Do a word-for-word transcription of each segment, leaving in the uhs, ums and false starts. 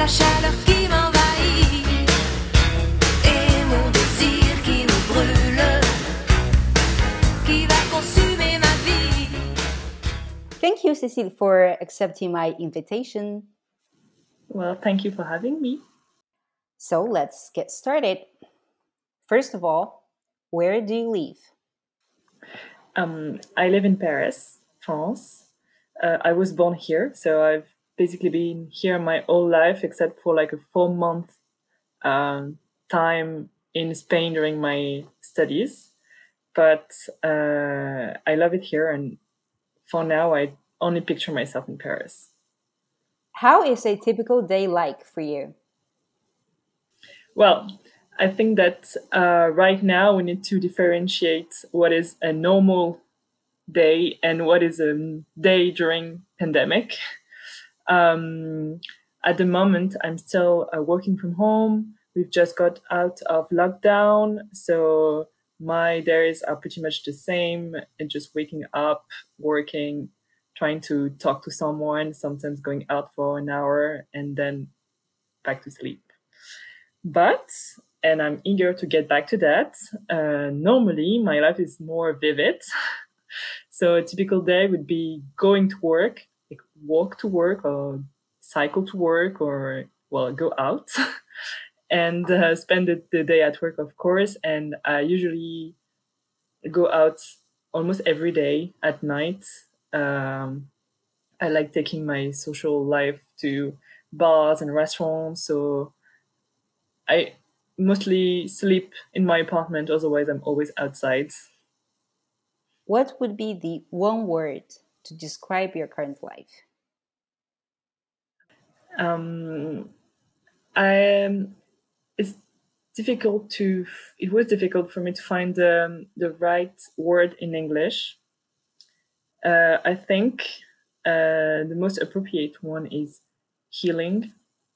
chaleur qui m'envahit et mon désir qui me brûle, qui va consumer ma vie. Thank you, Cécile, for accepting my invitation. Well, thank you for having me. So let's get started. First of all, where do you live? Um, I live in Paris, France. Uh, I was born here, so I've basically been here my whole life, except for like a four month um, time in Spain during my studies. But uh, I love it here, and for now, I only picture myself in Paris. How is a typical day like for you? Well, I think that uh, right now we need to differentiate what is a normal day and what is a day during pandemic. Um, at the moment, I'm still uh, working from home. We've just got out of lockdown, so my days are pretty much the same. And just waking up, working, trying to talk to someone, sometimes going out for an hour, and then back to sleep. But, and I'm eager to get back to that, uh, normally my life is more vivid. So a typical day would be going to work, like walk to work or cycle to work or, well, go out and uh, spend the, the day at work, of course. And I usually go out almost every day at night. Um, I like taking my social life to bars and restaurants. So I mostly sleep in my apartment. Otherwise, I'm always outside. What would be the one word to describe your current life? Um, I it's difficult to. It was difficult for me to find um, the right word in English. Uh, I think uh, the most appropriate one is healing.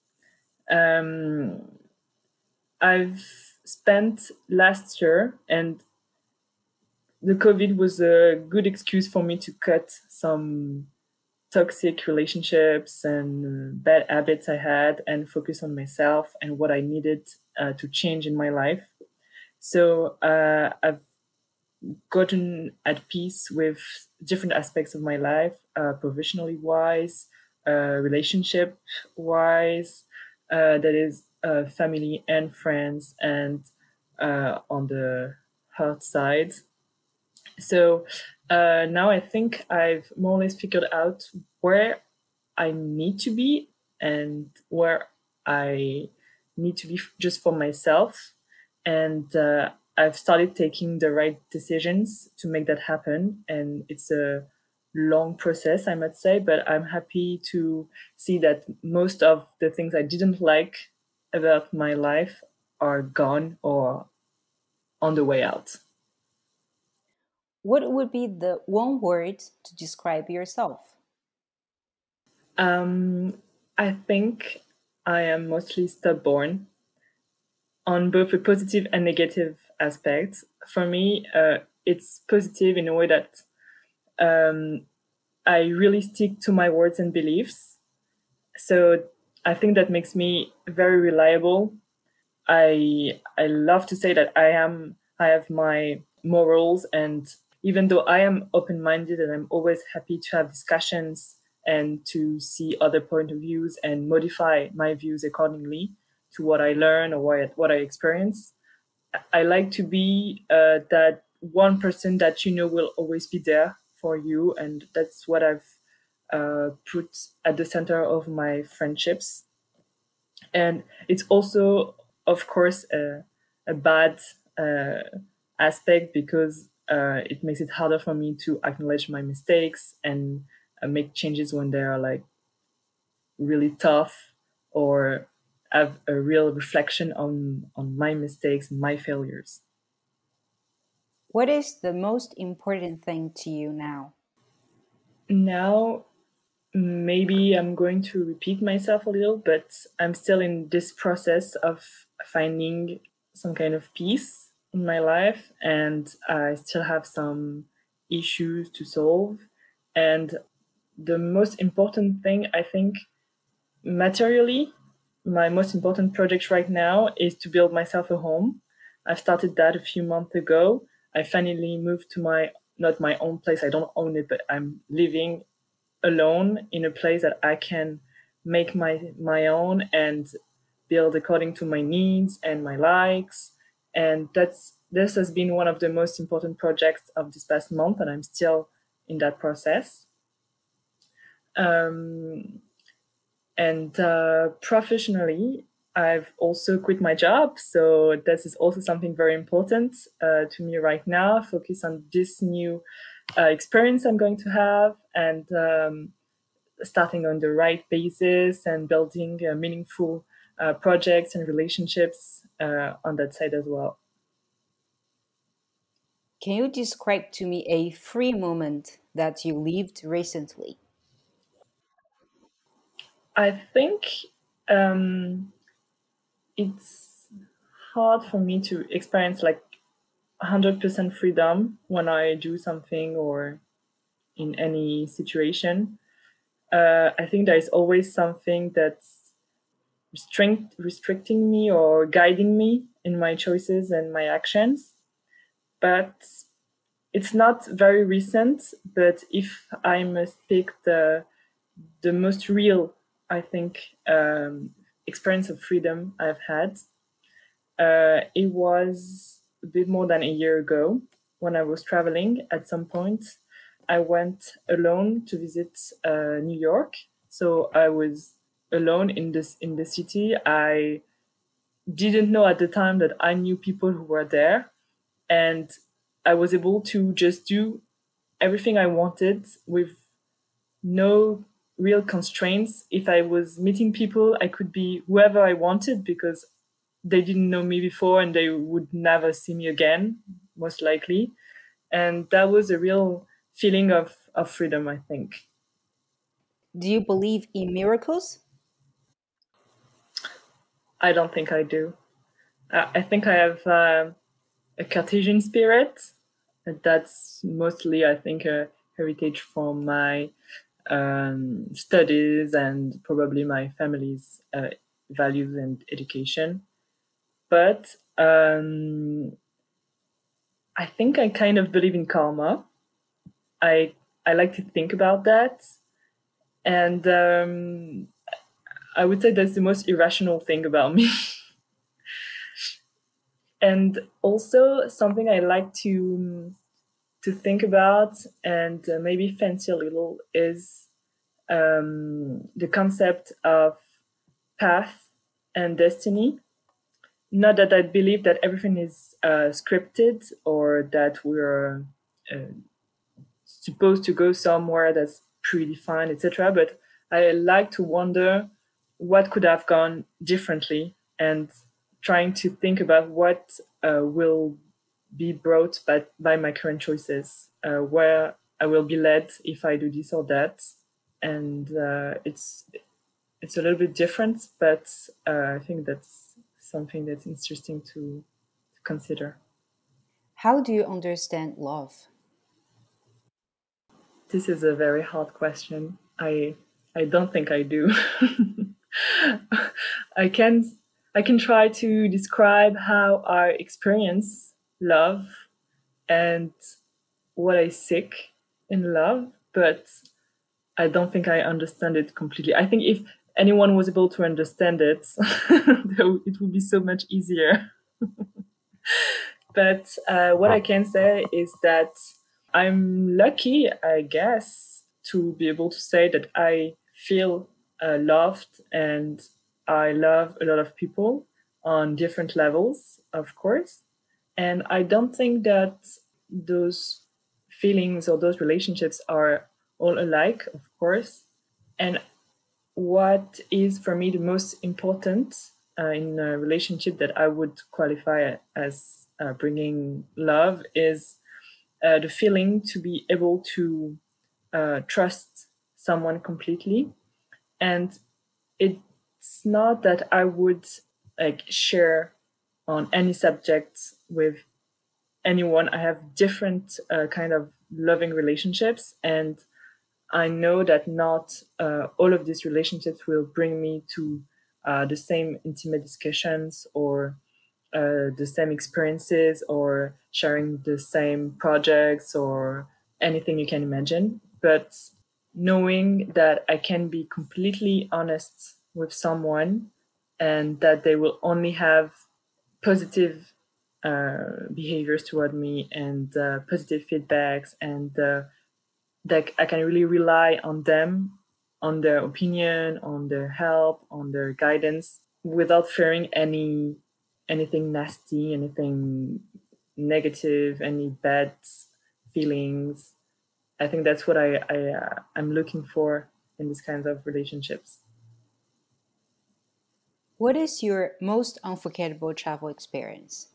Um, I've spent last year, and the COVID was a good excuse for me to cut some toxic relationships and uh, bad habits I had and focus on myself and what I needed uh, to change in my life. So uh, I've gotten at peace with different aspects of my life, uh, professionally wise, uh, relationship wise, uh, that is, uh, family and friends, and uh, on the heart side. So uh, now I think I've more or less figured out where I need to be and where I need to be f- just for myself. And uh, I've started taking the right decisions to make that happen. And it's a long process, I must say, but I'm happy to see that most of the things I didn't like about my life are gone or on the way out. What would be the one word to describe yourself? Um, I think I am mostly stubborn on both a positive and negative aspect. For me, uh, it's positive in a way that um, I really stick to my words and beliefs. So I think that makes me very reliable. I I love to say that I am I have my morals, and even though I am open minded and I'm always happy to have discussions and to see other point of views and modify my views accordingly to what I learn or what, what I experience. I like to be uh, that one person that you know will always be there for you, and that's what I've uh, put at the center of my friendships. And it's also, of course, a, a bad uh, aspect because uh, it makes it harder for me to acknowledge my mistakes and uh, make changes when they are like really tough or have a real reflection on on my mistakes and my failures. What is the most important thing to you now? Now, maybe I'm going to repeat myself a little, but I'm still in this process of finding some kind of peace in my life, and I still have some issues to solve. And the most important thing, I think, materially, my most important project right now is to build myself a home. I started that a few months ago. I finally moved to my, not my own place. I don't own it, but I'm living alone in a place that I can make my my own and build according to my needs and my likes. And that's this has been one of the most important projects of this past month, and I'm still in that process. Um, and uh, professionally, I've also quit my job, so this is also something very important uh, to me right now. Focus on this new uh, experience I'm going to have, and um, starting on the right basis and building uh, meaningful uh, projects and relationships uh, on that side as well. Can you describe to me a free moment that you lived recently? I think um, it's hard for me to experience like one hundred percent freedom when I do something or in any situation. Uh, I think there is always something that's restrict, restricting me or guiding me in my choices and my actions. But it's not very recent. But if I must pick the the most real, I think, um, experience of freedom I've had, uh, it was a bit more than a year ago when I was traveling. At some point, I went alone to visit uh, New York. So I was alone in this in the city. I didn't know at the time that I knew people who were there, and I was able to just do everything I wanted with no real constraints. If I was meeting people, I could be whoever I wanted because they didn't know me before and they would never see me again, most likely. And that was a real feeling of, of freedom, I think. Do you believe in miracles? I don't think I do. I, I think I have uh, a Cartesian spirit. That's mostly, I think, a heritage from my um, studies and probably my family's uh, values and education. But um, I think I kind of believe in karma. I I like to think about that, and um, I would say that's the most irrational thing about me. And also something I like to to think about and uh, maybe fancy a little is um, the concept of path and destiny. Not that I believe that everything is uh, scripted or that we're uh, supposed to go somewhere that's predefined, et cetera. But I like to wonder what could have gone differently and trying to think about what uh, will be brought by, by my current choices, uh, where I will be led if I do this or that. And uh, it's it's a little bit different, but uh, I think that's something that's interesting to, to consider. How do you understand love? This is a very hard question. I I don't think I do. I can I can try to describe how I experience love and what I seek in love, but I don't think I understand it completely. I think if anyone was able to understand it, it would be so much easier. But uh, what I can say is that I'm lucky, I guess, to be able to say that I feel uh, loved and I love a lot of people on different levels, of course. And I don't think that those feelings or those relationships are all alike, of course. And what is for me the most important uh, in a relationship that I would qualify as uh, bringing love is uh, the feeling to be able to uh, trust someone completely. And it's not that I would like share on any subject with anyone. I have different uh, kind of loving relationships, and I know that not uh, all of these relationships will bring me to uh, the same intimate discussions or uh, the same experiences or sharing the same projects or anything you can imagine. But knowing that I can be completely honest with someone and that they will only have positive uh, behaviors toward me and uh, positive feedbacks, and uh, that I can really rely on them, on their opinion, on their help, on their guidance, without fearing any anything nasty, anything negative, any bad feelings. I think that's what I, I uh, I'm looking for in these kinds of relationships. What is your most unforgettable travel experience?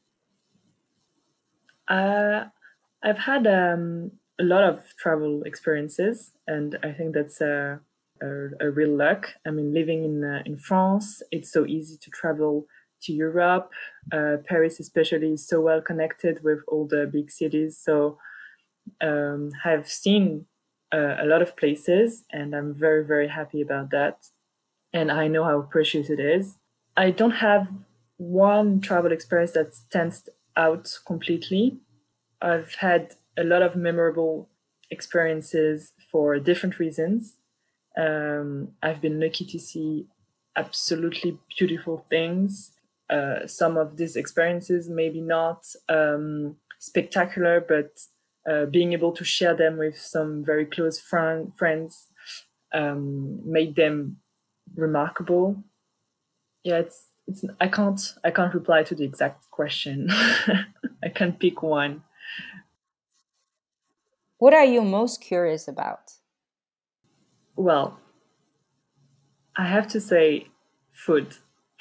Uh, I've had um, a lot of travel experiences, and I think that's a, a, a real luck. I mean, living in uh, in France, it's so easy to travel to Europe. Uh, Paris, especially, is so well connected with all the big cities. So um, I've seen uh, a lot of places, and I'm very, very happy about that. And I know how precious it is. I don't have one travel experience that stands out completely. I've had a lot of memorable experiences for different reasons. Um, I've been lucky to see absolutely beautiful things. Uh, some of these experiences maybe not um, spectacular, but uh, being able to share them with some very close friend, friends um, made them remarkable. Yeah, it's it's I can't I can't reply to the exact question. I can pick one. What are you most curious about? Well, I have to say food.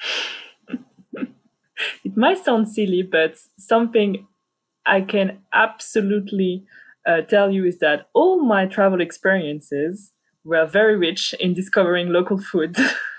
It might sound silly, but something I can absolutely uh, tell you is that all my travel experiences were very rich in discovering local food.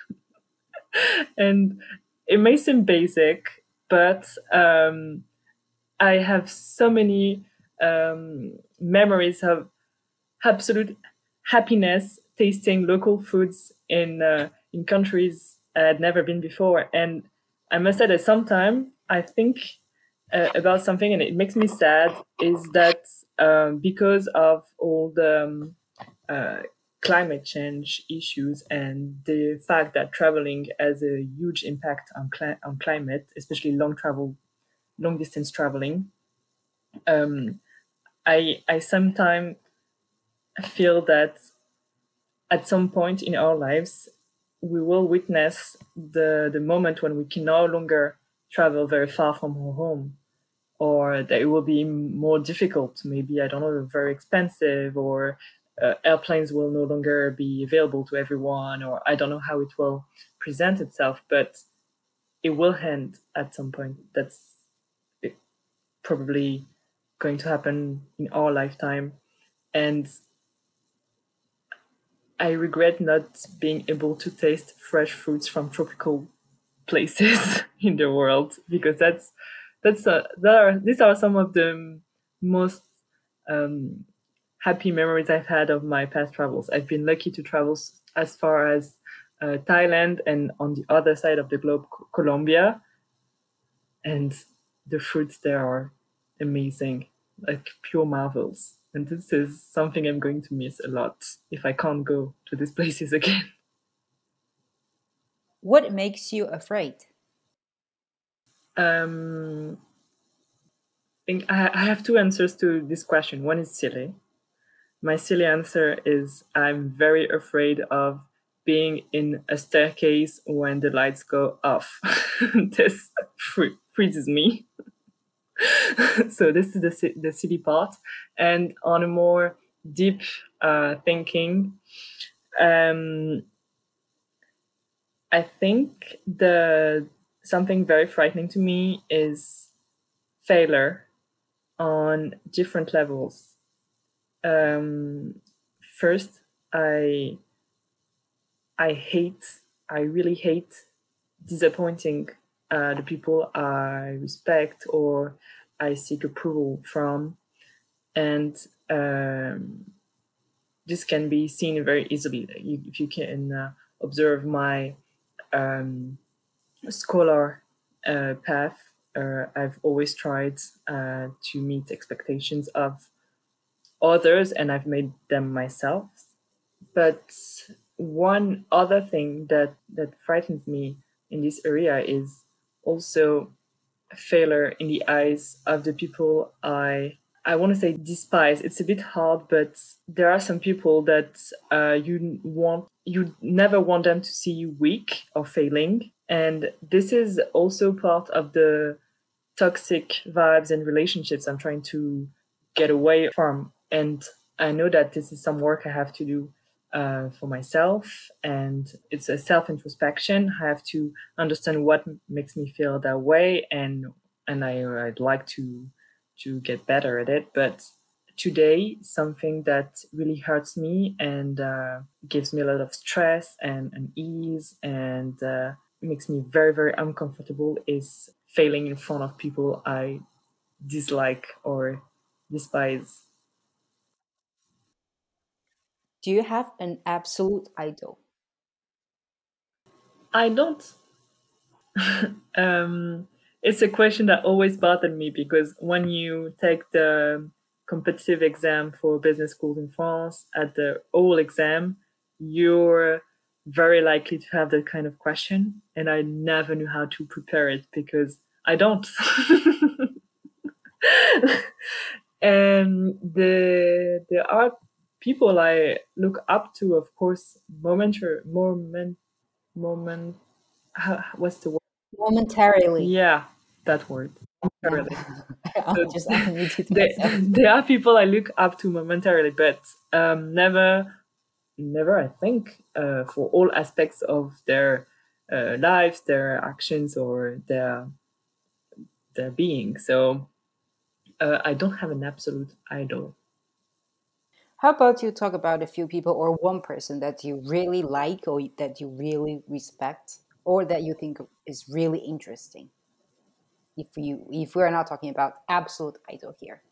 And it may seem basic, but um, I have so many um, memories of absolute happiness tasting local foods in uh, in countries I had never been before. And I must say that sometimes I think uh, about something, and it makes me sad. Is that um, because of all the um, uh, climate change issues and the fact that traveling has a huge impact on cli- on climate, especially long travel, long distance traveling. Um, I I sometimes feel that at some point in our lives, we will witness the, the moment when we can no longer travel very far from our home, or that it will be more difficult. Maybe, I don't know, very expensive, or uh, airplanes will no longer be available to everyone, or I don't know how it will present itself, but it will end at some point. That's it, probably going to happen in our lifetime. And I regret not being able to taste fresh fruits from tropical places in the world, because that's that's uh, that are these are some of the most um, happy memories I've had of my past travels. I've been lucky to travel s- as far as uh, Thailand, and on the other side of the globe, Co- Colombia, and the fruits there are amazing, like pure marvels. And this is something I'm going to miss a lot if I can't go to these places again. What makes you afraid? Um, I think I I have two answers to this question. One is silly. My silly answer is I'm very afraid of being in a staircase when the lights go off. This fr- freezes me. So this is the si- the silly part. And on a more deep uh, thinking, um, I think the something very frightening to me is failure on different levels. Um, First, I I hate, I really hate disappointing uh, the people I respect or I seek approval from, and um, this can be seen very easily. You, if you can uh, observe my um, scholar uh, path, uh, I've always tried uh, to meet expectations of others, and I've made them myself. But one other thing that that frightens me in this area is also failure in the eyes of the people I I want to say despise. It's a bit hard, but there are some people that uh, you want you never want them to see you weak or failing, and this is also part of the toxic vibes and relationships I'm trying to get away from. And I know that this is some work I have to do uh, for myself, and it's a self introspection. I have to understand what m- makes me feel that way, and and I, I'd like to to get better at it. But today, something that really hurts me and uh, gives me a lot of stress and, and ease and uh, makes me very very uncomfortable is failing in front of people I dislike or despise. Do you have an absolute idol? I don't. um, it's a question that always bothered me because when you take the competitive exam for business schools in France at the oral exam, you're very likely to have that kind of question. And I never knew how to prepare it because I don't. And the there are people I look up to, of course, momentary moment moment. How, what's the word? Momentarily. Yeah, that word. Yeah. Momentarily. I'm So just adding it to there, myself. there are people I look up to momentarily, but um, never, never. I think uh, for all aspects of their uh, lives, their actions, or their their being. So uh, I don't have an absolute idol. How about you talk about a few people or one person that you really like or that you really respect or that you think is really interesting? If you if we're not talking about absolute idol here.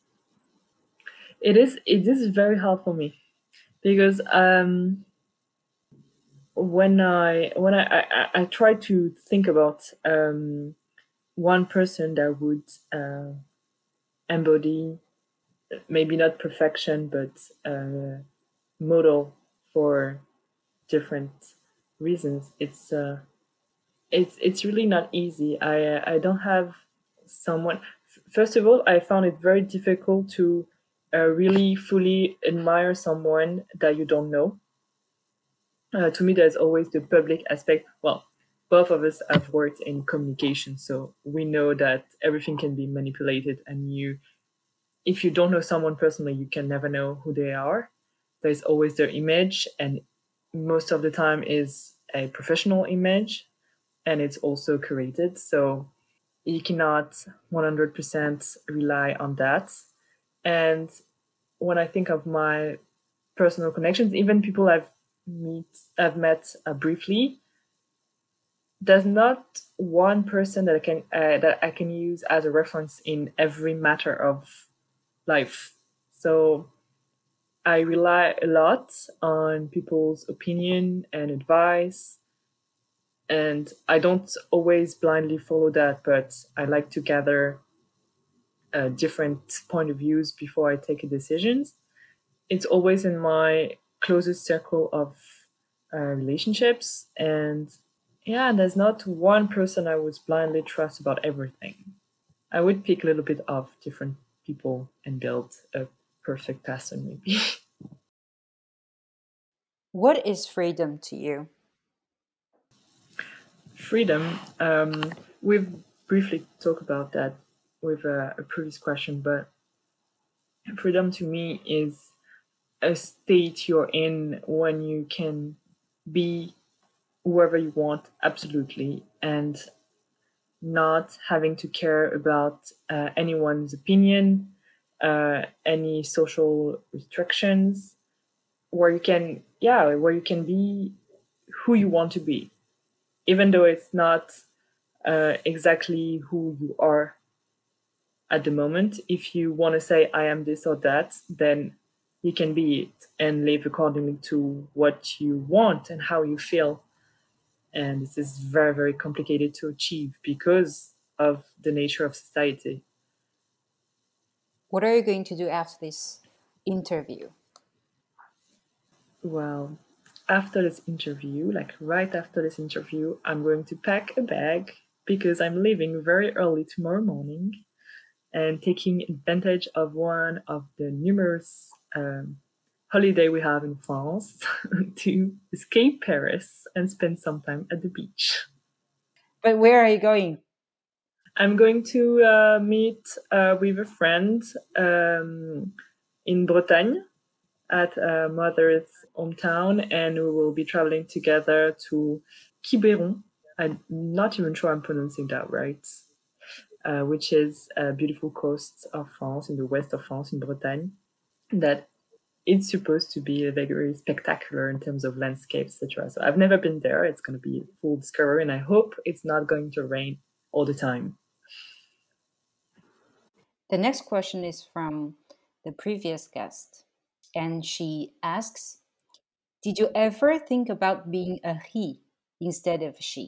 It is it is very hard for me because um, when I when I, I, I I try to think about um, one person that would uh, embody maybe not perfection but uh, model for different reasons. It's uh, it's it's really not easy. I uh, I don't have someone. First of all, I found it very difficult to uh, really fully admire someone that you don't know. Uh, to me, there's always the public aspect. Well, both of us have worked in communication, so we know that everything can be manipulated, and you, if you don't know someone personally, you can never know who they are. There's always their image, and most of the time is a professional image, and it's also created. So you cannot one hundred percent rely on that. And when I think of my personal connections, even people I've meet I've met uh, briefly, there's not one person that I can uh, that I can use as a reference in every matter of life. So I rely a lot on people's opinion and advice, and I don't always blindly follow that, but I like to gather uh, different point of views before I take a decision. It's always in my closest circle of uh, relationships, and yeah, there's not one person I would blindly trust about everything. I would pick a little bit of different people and build a perfect person, maybe. What is freedom to you? Freedom. Um, we've briefly talked about that with a, a previous question, but freedom to me is a state you're in when you can be whoever you want, absolutely, and not having to care about uh, anyone's opinion, uh, any social restrictions, where you can, yeah, where you can be who you want to be, even though it's not uh, exactly who you are at the moment. If you want to say, I am this or that, then you can be it and live accordingly to what you want and how you feel. And this is very, very complicated to achieve because of the nature of society. What are you going to do after this interview? Well, after this interview, like right after this interview, I'm going to pack a bag because I'm leaving very early tomorrow morning and taking advantage of one of the numerous um, holiday we have in France to escape Paris and spend some time at the beach. But where are you going? I'm going to uh, meet uh, with a friend um, in Bretagne at uh, mother's hometown, and we will be traveling together to Quiberon. I'm not even sure I'm pronouncing that right, uh, which is a beautiful coast of France, in the west of France, in Bretagne, that it's supposed to be very spectacular in terms of landscape, et cetera. So I've never been there. It's going to be a full discovery, and I hope it's not going to rain all the time. The next question is from the previous guest, and she asks, did you ever think about being a he instead of she?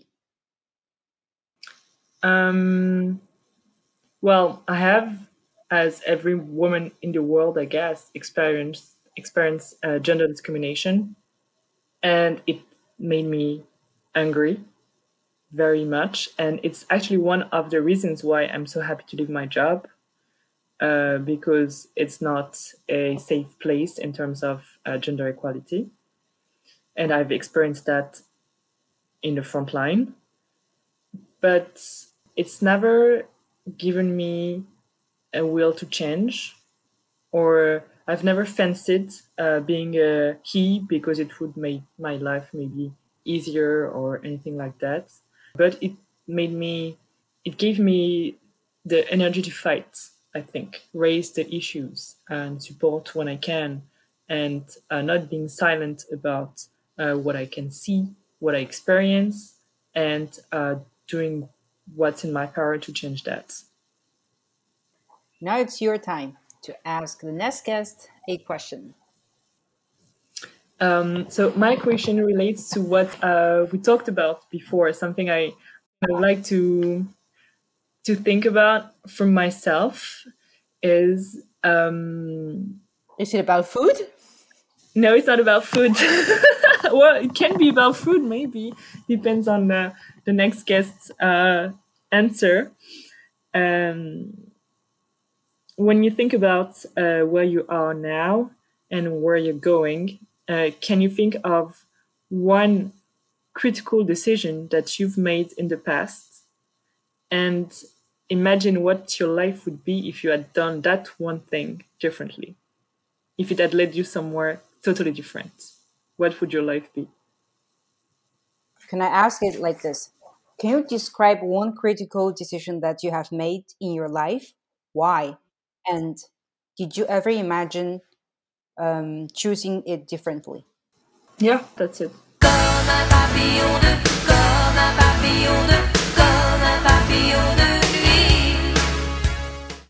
Um, well, I have, as every woman in the world, I guess, experienced experience uh, gender discrimination, and it made me angry very much. And it's actually one of the reasons why I'm so happy to leave my job, uh, because it's not a safe place in terms of uh, gender equality. And I've experienced that in the front line. But it's never given me a will to change, or I've never fancied uh, being a he because it would make my life maybe easier or anything like that. But it made me, it gave me the energy to fight, I think, raise the issues and support when I can, and uh, not being silent about uh, what I can see, what I experience, and uh, doing what's in my power to change that. Now it's your time to ask the next guest a question. Um, so my question relates to what uh, we talked about before. Something I, I would like to to think about for myself is um, Is it about food? no, it's not about food. Well, it can be about food, maybe depends on the the next guest's uh, answer. Um, when you think about uh, where you are now and where you're going, uh, can you think of one critical decision that you've made in the past and imagine what your life would be if you had done that one thing differently? If it had led you somewhere totally different, what would your life be? Can I ask it like this? Can you describe one critical decision that you have made in your life? Why? And did you ever imagine um, choosing it differently? Yeah, that's it. Comme un papillon de, comme un papillon de, comme un papillon de